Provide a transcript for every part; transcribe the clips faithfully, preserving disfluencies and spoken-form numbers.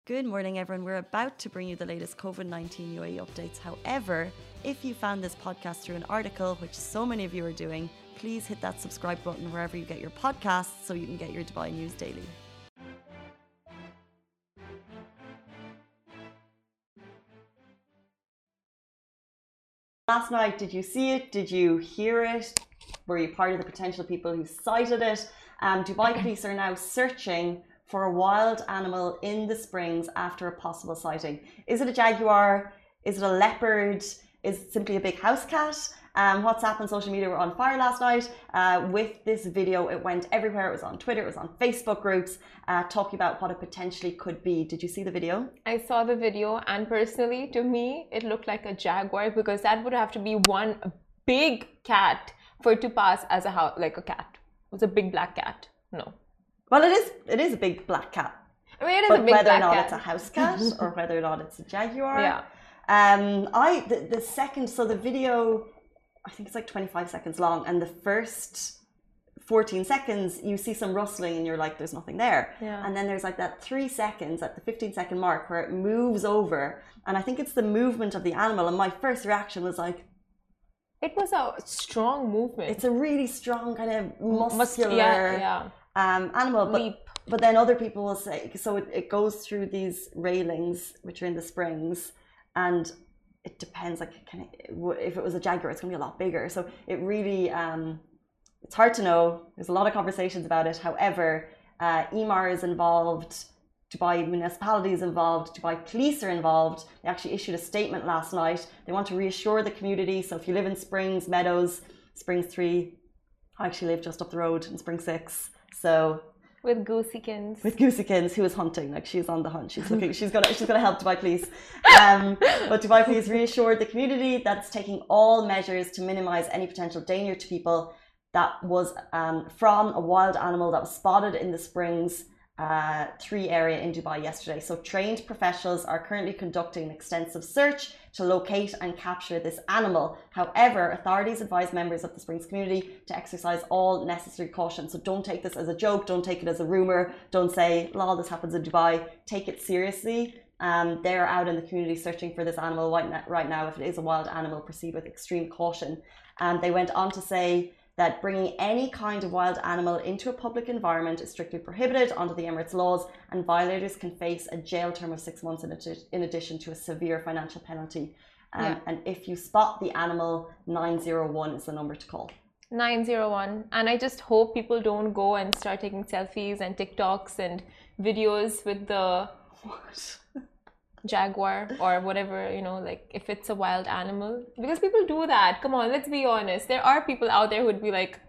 Good morning, everyone. We're about to bring you the latest COVID nineteen U A E updates. However, if you found this podcast through an article, which so many of you are doing, please hit that subscribe button wherever you get your podcasts so you can get your Dubai news daily. Last night, did you see it? Did you hear it? Were you part of the potential people who cited it? Um, Dubai police are now searching for a wild animal in the Springs after a possible sighting. Is it a jaguar? Is it a leopard? Is it simply a big house cat? Um, WhatsApp and social media were on fire last night uh, with this video. It went everywhere. It was on Twitter. It was on Facebook groups uh, talking about what it potentially could be. Did you see the video? I saw the video, and personally, to me, it looked like a jaguar because that would have to be one big cat for it to pass as a house, like a cat. It was a big black cat. No. Well, it is. It is a big black cat. I mean, it is but a big whether or black not cat. it's a house cat or whether or not it's a jaguar. Yeah. Um. I the, the second. So the video, I think it's like twenty-five seconds long, and the first fourteen seconds you see some rustling, and you're like, "There's nothing there." Yeah. And then there's like that three seconds at the fifteen second mark where it moves over, and I think it's the movement of the animal. And my first reaction was like, it was a strong movement. it's a really strong kind of muscular. Yeah, yeah. Um, animal, but, Leap. but then other people will say, so it, it goes through these railings, which are in the Springs, and it depends, like, can it, if it was a jaguar, it's going to be a lot bigger. So it really, um, it's hard to know. There's a lot of conversations about it. However, uh, E M A R is involved, Dubai municipality is involved, Dubai police are involved. They actually issued a statement last night. They want to reassure the community. So if you live in Springs, Meadows, Springs three, I actually live just up the road in Springs six. So with Gooseykins. with Gooseykins, who is hunting, like she's on the hunt. She's looking. She's gonna. She's gonna help Dubai Police. Um, but Dubai Police reassured the community that it's taking all measures to minimise any potential danger to people. That was um, from a wild animal that was spotted in the Springs uh, three area in Dubai yesterday. So trained professionals are currently conducting an extensive search to locate and capture this animal. However, authorities advise members of the Springs community to exercise all necessary caution. So don't take this as a joke, don't take it as a rumor, don't say, lol, this happens in Dubai. Take it seriously. Um, they're out in the community searching for this animal right now. If it is a wild animal, proceed with extreme caution. And they went on to say that bringing any kind of wild animal into a public environment is strictly prohibited under the Emirates laws, and violators can face a jail term of six months in, adi in addition to a severe financial penalty. Um, Yeah. And if you spot the animal, nine zero one is the number to call. nine zero one. And I just hope people don't go and start taking selfies and TikToks and videos with the What? jaguar or whatever, you know, like if it's a wild animal, because people do that. Come on, let's be honest. There are people out there who would be like,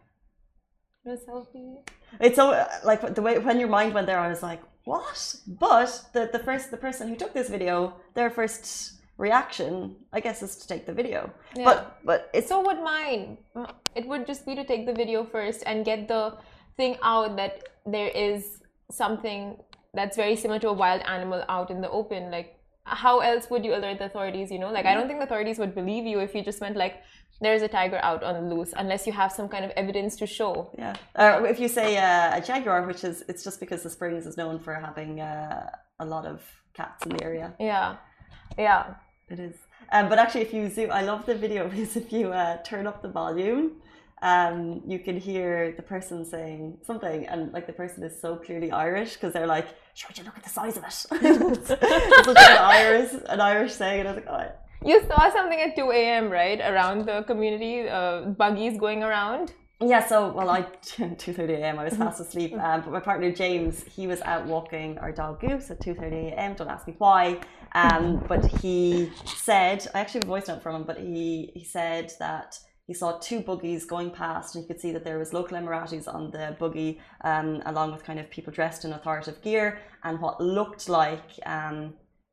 a selfie. It's so like the way when your mind went there, I was like, what? But the the first the person who took this video, their first reaction, I guess, is to take the video. Yeah. But but it's So would mine. It would just be to take the video first and get the thing out that there is something that's very similar to a wild animal out in the open. Like, how else would you alert the authorities, you know? Like, I don't think the authorities would believe you if you just went like, there's a tiger out on the loose, unless you have some kind of evidence to show. Yeah. Uh, if you say uh, a jaguar, which is, it's just because the Springs is known for having uh, a lot of cats in the area. Yeah. Yeah. It is. Um, but actually, if you zoom, I love the video because if you uh, turn up the volume, um, you can hear the person saying something, and like the person is so clearly Irish because they're like, "Sure, would you look at the size of it?" It's such an Irish, an Irish saying, and I was like, "Oh." You saw something at two A M, right? Around the community, uh, buggies going around. Yeah, so, well, I, two thirty a m, I was fast asleep, um, but my partner James, he was out walking our dog Goose at two thirty a m, don't ask me why, um, but he said, I actually have a voice note from him, but he, he said that he saw two buggies going past, and you could see that there was local Emiratis on the buggy, um, along with kind of people dressed in authoritative gear, and what looked like, um,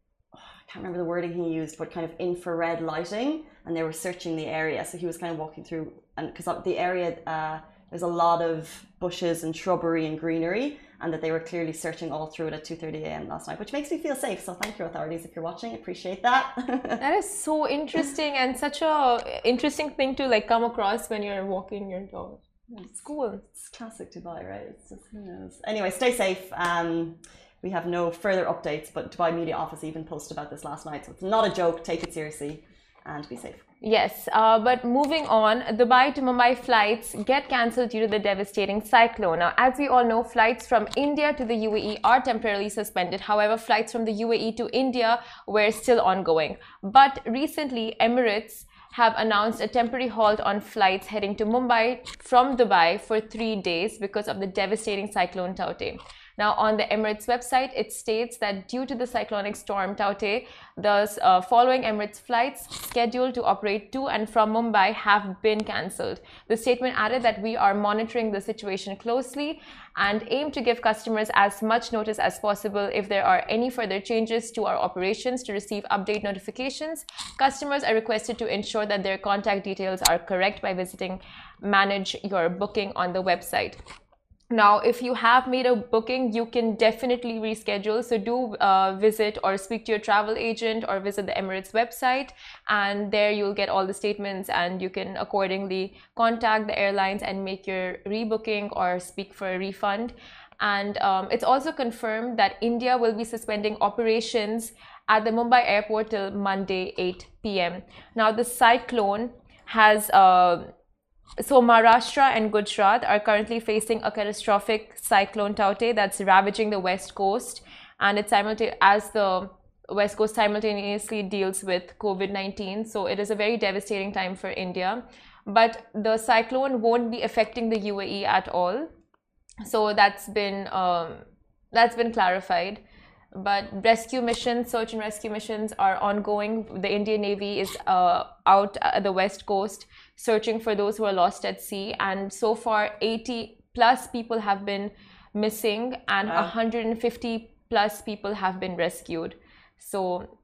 I can't remember the wording he used, but kind of infrared lighting, and they were searching the area. So he was kind of walking through, and because the area, uh, there's a lot of bushes and shrubbery and greenery, and that they were clearly searching all through it at two thirty a m last night, which makes me feel safe. So thank you, authorities, if you're watching. Appreciate that. That is so interesting, and such a interesting thing to like come across when you're walking your dog. It's cool. It's classic Dubai, right? It's just, who knows. Anyway, stay safe. Um, we have no further updates, but Dubai Media Office even posted about this last night. So it's not a joke. Take it seriously and be safe. Yes, uh, but moving on, Dubai to Mumbai flights get cancelled due to the devastating cyclone. Now, as we all know, flights from India to the U A E are temporarily suspended. However, flights from the U A E to India were still ongoing. But recently, Emirates have announced a temporary halt on flights heading to Mumbai from Dubai for three days because of the devastating cyclone Tauktae. Now, on the Emirates website, it states that due to the cyclonic storm Tauktae, the uh, following Emirates flights scheduled to operate to and from Mumbai have been cancelled. The statement added that we are monitoring the situation closely and aim to give customers as much notice as possible if there are any further changes to our operations to receive update notifications. Customers are requested to ensure that their contact details are correct by visiting Manage Your Booking on the website. Now, if you have made a booking, you can definitely reschedule. So do uh, visit or speak to your travel agent or visit the Emirates website, and there you'll get all the statements and you can accordingly contact the airlines and make your rebooking or speak for a refund. And um, it's also confirmed that India will be suspending operations at the Mumbai airport till Monday eight p m Now, the cyclone has uh, So Maharashtra and Gujarat are currently facing a catastrophic cyclone Tauktae that's ravaging the west coast, and it's simultaneous as the west coast simultaneously deals with COVID nineteen. So it is a very devastating time for India, but the cyclone won't be affecting the U A E at all. So that's been um, that's been clarified. But rescue missions, search and rescue missions are ongoing. The Indian Navy is uh, out at the west coast searching for those who are lost at sea. And so far, eighty plus people have been missing and wow. one hundred fifty plus people have been rescued. So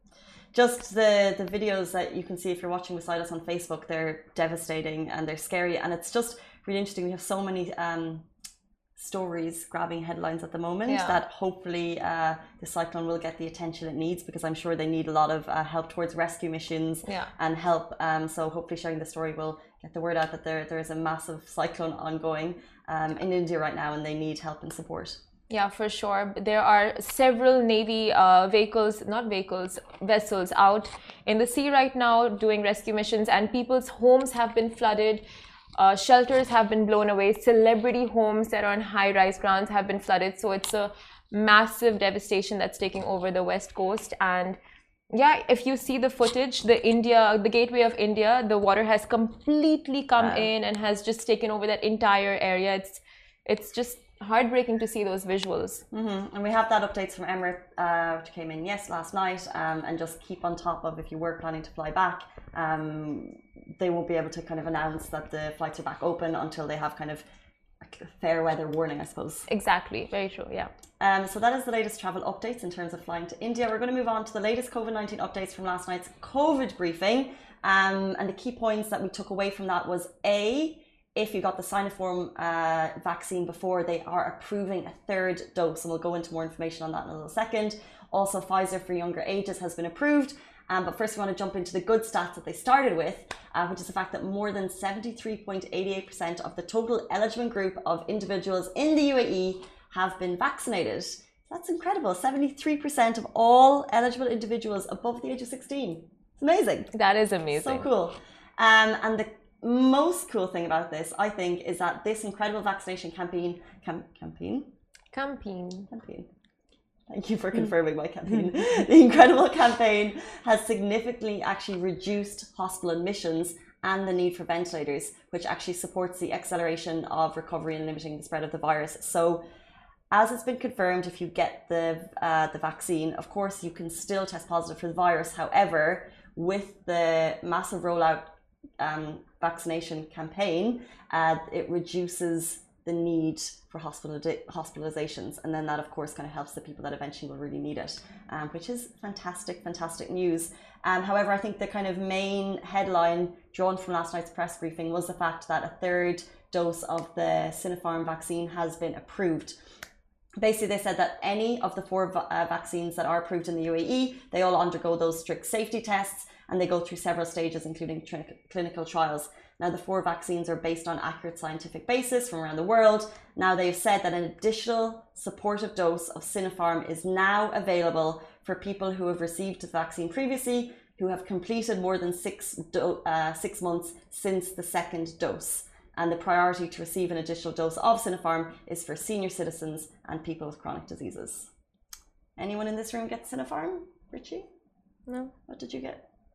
just the, the videos that you can see if you're watching beside us on Facebook, they're devastating and they're scary. And it's just really interesting. We have so many um, stories grabbing headlines at the moment yeah. that hopefully uh, the cyclone will get the attention it needs, because I'm sure they need a lot of uh, help towards rescue missions yeah. and help. Um, so hopefully sharing the story will get the word out that there, there is a massive cyclone ongoing um, in India right now and they need help and support. Yeah, for sure. There are several Navy uh, vehicles, not vehicles, vessels out in the sea right now doing rescue missions, and people's homes have been flooded. Uh, shelters have been blown away. Celebrity homes that are on high-rise grounds have been flooded. So it's a massive devastation that's taking over the west coast. And yeah, if you see the footage, the India, the gateway of India, the water has completely come wow. in and has just taken over that entire area. It's it's just heartbreaking to see those visuals. Mm-hmm. And we have that updates from Emirates, uh, which came in yes last night. Um, and just keep on top of if you were planning to fly back. Um, they won't be able to kind of announce that the flights are back open until they have kind of a fair weather warning, I suppose. Exactly, very true, yeah. Um, so that is the latest travel updates in terms of flying to India. We're going to move on to the latest COVID nineteen updates from last night's COVID briefing. Um, and the key points that we took away from that was A, if you got the Sinopharm uh, vaccine before, they are approving a third dose. And we'll go into more information on that in a little second. Also, Pfizer for younger ages has been approved. Um, but first, we want to jump into the good stats that they started with, uh, which is the fact that more than seventy-three point eight eight percent of the total eligible group of individuals in the U A E have been vaccinated. That's incredible. seventy-three percent of all eligible individuals above the age of sixteen. It's amazing. That is amazing. So cool. Um, and the most cool thing about this, I think, is that this incredible vaccination campaign, cam, campaign, campaign, campaign. Thank you for confirming my campaign. The incredible campaign has significantly actually reduced hospital admissions and the need for ventilators, which actually supports the acceleration of recovery and limiting the spread of the virus. So, as it's been confirmed, if you get the uh, the vaccine, of course, you can still test positive for the virus. However, with the massive rollout um, vaccination campaign, uh, it reduces the need for hospital hospitalizations, and then that of course kind of helps the people that eventually will really need it, um, which is fantastic fantastic news. Um, however, I think the kind of main headline drawn from last night's press briefing was the fact that a third dose of the Sinopharm vaccine has been approved. Basically, they said that any of the four uh, vaccines that are approved in the U A E, they all undergo those strict safety tests, and they go through several stages, including clinical trials. Now, the four vaccines are based on accurate scientific basis from around the world. Now, they've said that an additional supportive dose of Sinopharm is now available for people who have received the vaccine previously, who have completed more than six, do- uh, six months since the second dose. And the priority to receive an additional dose of Sinopharm is for senior citizens and people with chronic diseases. Anyone in this room get Sinopharm? Richie? No. What did you get?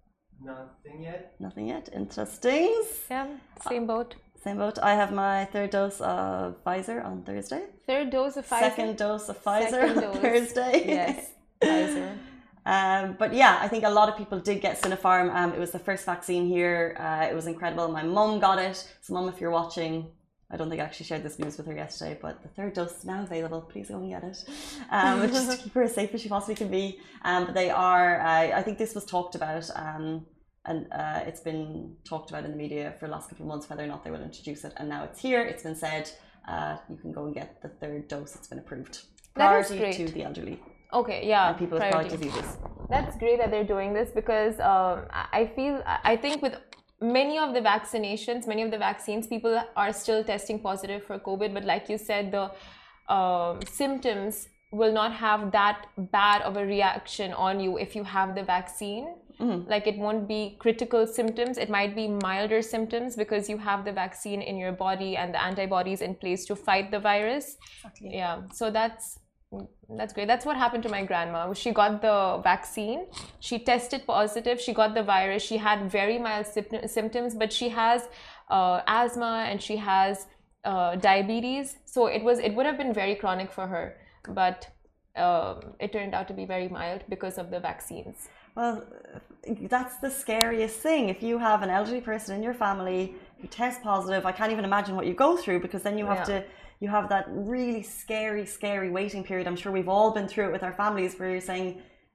Nothing yet. Nothing yet. Interesting. Yeah, same boat. Same boat. I have my third dose of Pfizer on Thursday. Third dose of Pfizer? Second dose of Pfizer Second on dose. Thursday. Yes, Pfizer. Um, but yeah, I think a lot of people did get Sinopharm. Um, it was the first vaccine here. Uh, it was incredible. My mum got it. So mum, if you're watching, I don't think I actually shared this news with her yesterday, but the third dose is now available. Please go and get it. Um, just to keep her as safe as she possibly can be. Um, but they are, uh, I think this was talked about, um, and uh, it's been talked about in the media for the last couple of months, whether or not they will introduce it. And now it's here. It's been said, uh, you can go and get the third dose. It's been approved. Priority to the elderly. Okay, yeah. And people with chronic diseases. That's great that they're doing this because um, I feel, I think with many of the vaccinations, many of the vaccines, people are still testing positive for COVID. But like you said, the uh, symptoms will not have that bad of a reaction on you if you have the vaccine. Mm-hmm. Like it won't be critical symptoms. It might be milder symptoms because you have the vaccine in your body and the antibodies in place to fight the virus. Exactly. Yeah, so that's That's great. That's what happened to my grandma. She got the vaccine. She tested positive. She got the virus. She had very mild symptoms, but she has uh, asthma and she has uh, diabetes. So it was. It would have been very chronic for her, but um, it turned out to be very mild because of the vaccines. Well, that's the scariest thing. If you have an elderly person in your family who tests positive, I can't even imagine what you go through because then you have yeah. to. You have that really scary, scary waiting period. I'm sure we've all been through it with our families where you're saying,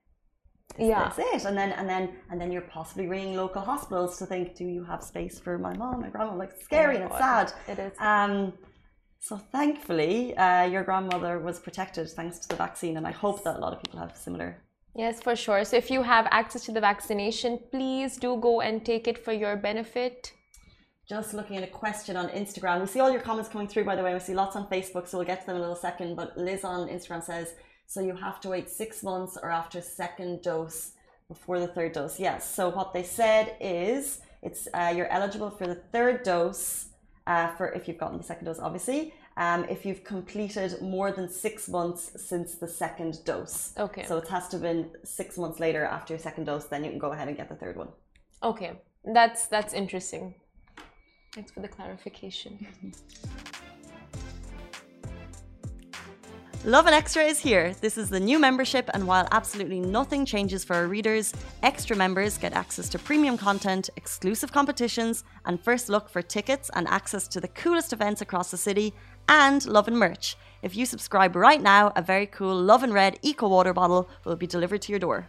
yeah, that's it. And then, and then, and then you're possibly ringing local hospitals to think, do you have space for my mom, my grandma? Like it's scary oh and it's sad. It is. Um, so thankfully, uh, your grandmother was protected thanks to the vaccine. And I hope that a lot of people have similar. Yes, for sure. So if you have access to the vaccination, please do go and take it for your benefit. Just looking at a question on Instagram. We see all your comments coming through, by the way. We see lots on Facebook, so we'll get to them in a little second. But Liz on Instagram says, so you have to wait six months or after second dose before the third dose. Yes. So what they said is it's uh, you're eligible for the third dose uh, for if you've gotten the second dose, obviously. Um, if you've completed more than six months since the second dose. Okay. So it has to have been six months later after your second dose, then you can go ahead and get the third one. Okay. That's that's interesting. Thanks for the clarification. Lovin Extra is here. This is the new membership, and while absolutely nothing changes for our readers, extra members get access to premium content, exclusive competitions, and first look for tickets and access to the coolest events across the city, and Lovin merch. If you subscribe right now, a very cool Lovin Red Eco Water bottle will be delivered to your door.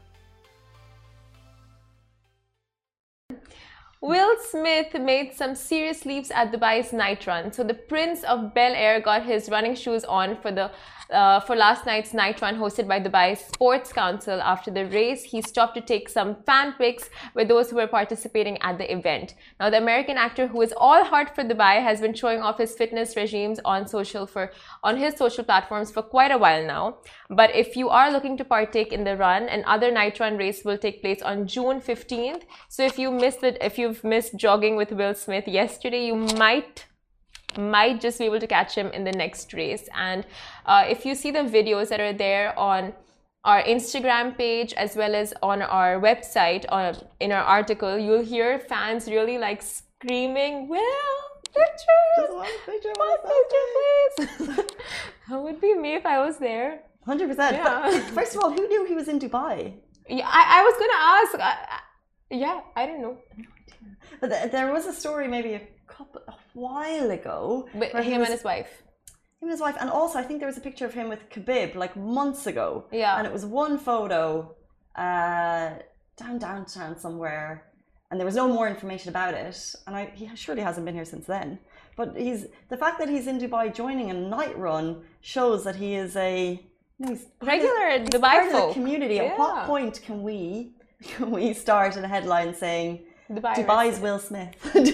Will Smith made some serious leaps at Dubai's night run. So the Prince of Bel Air got his running shoes on for the uh, for last night's night run hosted by Dubai Sports Council. After the race, he stopped to take some fan pics with those who were participating at the event. Now, the American actor, who is all heart for Dubai, has been showing off his fitness regimes on social for on his social platforms for quite a while now. But if you are looking to partake in the run, another night run race will take place on June fifteenth. So if you missed it, if you've missed jogging with Will Smith yesterday, you might might just be able to catch him in the next race. And uh, if you see the videos that are there on our Instagram page as well as on our website, on in our article, you'll hear fans really like screaming, "Will, pictures! Just one picture, one picture, please!" That would be me if I was there. one hundred percent. Yeah. But first of all, who knew he was in Dubai? Yeah, I, I was gonna ask. I, I, yeah, I don't know. But th there was a story maybe a couple a while ago. But him was, and his wife. Him and his wife, and also I think there was a picture of him with Khabib like months ago. Yeah. And it was one photo, uh, down downtown somewhere, and there was no more information about it. And I, he surely hasn't been here since then. But he's the fact that he's in Dubai joining a night run shows that he is a you know, he's regular he's Dubai part folk. of the community. Yeah. At what point can we can we start in a headline saying? Dubai Dubai's Will Smith.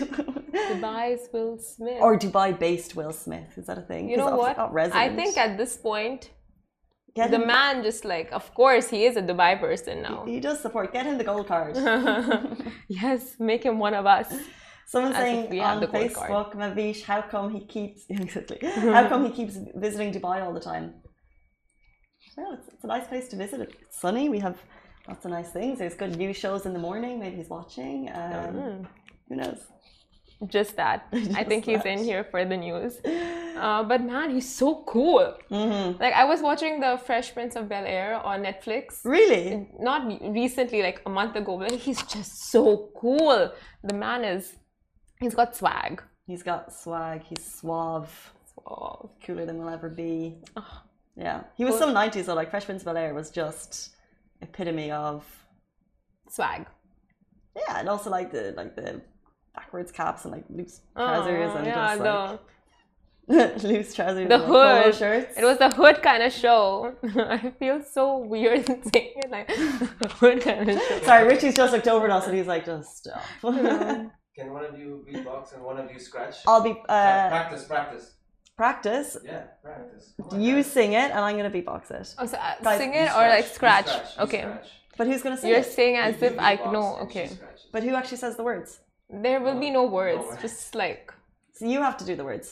Dubai's Will Smith. Or Dubai-based Will Smith. Is that a thing? You know 'Cause what? I've got resident. I think at this point, Get the him- man just like, of course, he is a Dubai person now. He does support. Get him the gold card. Yes, make him one of us. Someone As if saying we had on the gold card. Facebook, Mavish, how come he keeps exactly? How come he keeps visiting Dubai all the time? Well, it's, it's a nice place to visit. It's sunny. We have lots of nice things. There's good news shows in the morning. Maybe he's watching. Um, Mm. Who knows? Just that. I Just think he's that. in here for the news. Uh, but man, he's so cool. Mm-hmm. Like I was watching the Fresh Prince of Bel Air on Netflix. Really? Not recently, like a month ago, but he's just so cool. The man is, he's got swag. He's got swag. He's suave. Oh, Cooler than we'll ever be. Oh. Yeah. He was Cool. some nineties though. Like Fresh Prince of Bel Air was just epitome of. swag. Yeah, and also like the like the backwards caps and like loose trousers Oh, and yeah, just the, like loose trousers the and like polo hood. shirts. It was the hood kind of show. I feel so weird saying it like the hood kind of show. Sorry, Richie's just looked over at us and he's like, just stop. Can one of you beatbox and one of you scratch? I'll be uh, practice, practice. practice. Yeah, practice. Come on, You guys. sing it and I'm gonna beatbox it. Oh, so, uh, Guys, sing You it or like you scratch? you Okay. scratch. But who's gonna sing You're it? saying as You if I beatbox know. and she Okay. scratches. But who actually says the words? There will be no words. words. Just like So you have to do the words.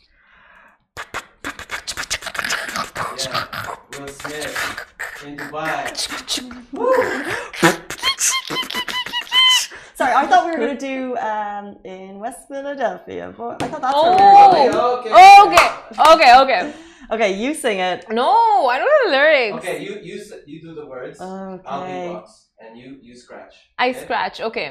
Yeah, Will Smith in Dubai. Sorry, I thought we were gonna do um, in West Philadelphia, but I thought that's Oh. where we were going. Okay, okay, okay, okay. Okay, you sing it. No, I don't know the lyrics. Okay, you you s- you do the words. I'll Okay. beatbox and you you scratch. I okay? scratch. Okay.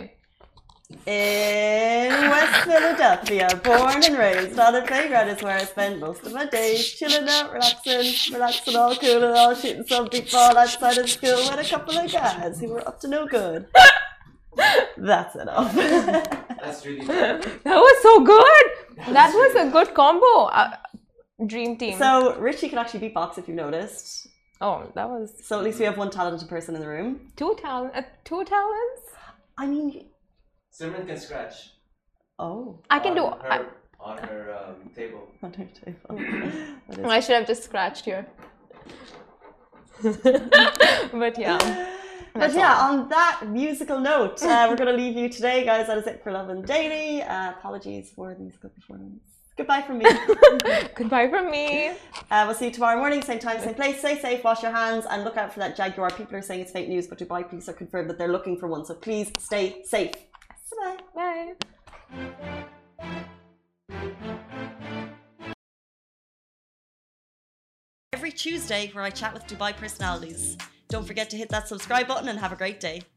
In West Philadelphia, born and raised, on the playground is where I spend most of my days. Chilling out, relaxing, relaxing, all cool and all, shooting some big ball outside of school with a couple of guys who were up to no good. That's enough. That's really good. That was so good. That was a good combo. Uh, dream team. So Richie can actually beatbox if you've noticed. oh, that was So at least we have one talented person in the room. two talent. Uh, two talents. I mean, Simran can scratch. oh, I can on do. her, I, on her um, table. on her table. That is- I should have just scratched here. But yeah. But That's yeah, all. on that musical note, uh, we're going to leave you today, guys. That is it for Love and Daily. Uh, apologies for the musical performance. Goodbye from me. Goodbye from me. Uh, we'll see you tomorrow morning, same time, same place. Stay safe, wash your hands, and look out for that Jaguar. People are saying it's fake news, but Dubai police are confirmed that they're looking for one. So please stay safe. Bye. Bye. Every Tuesday, where I chat with Dubai personalities. Don't forget to hit that subscribe button and have a great day.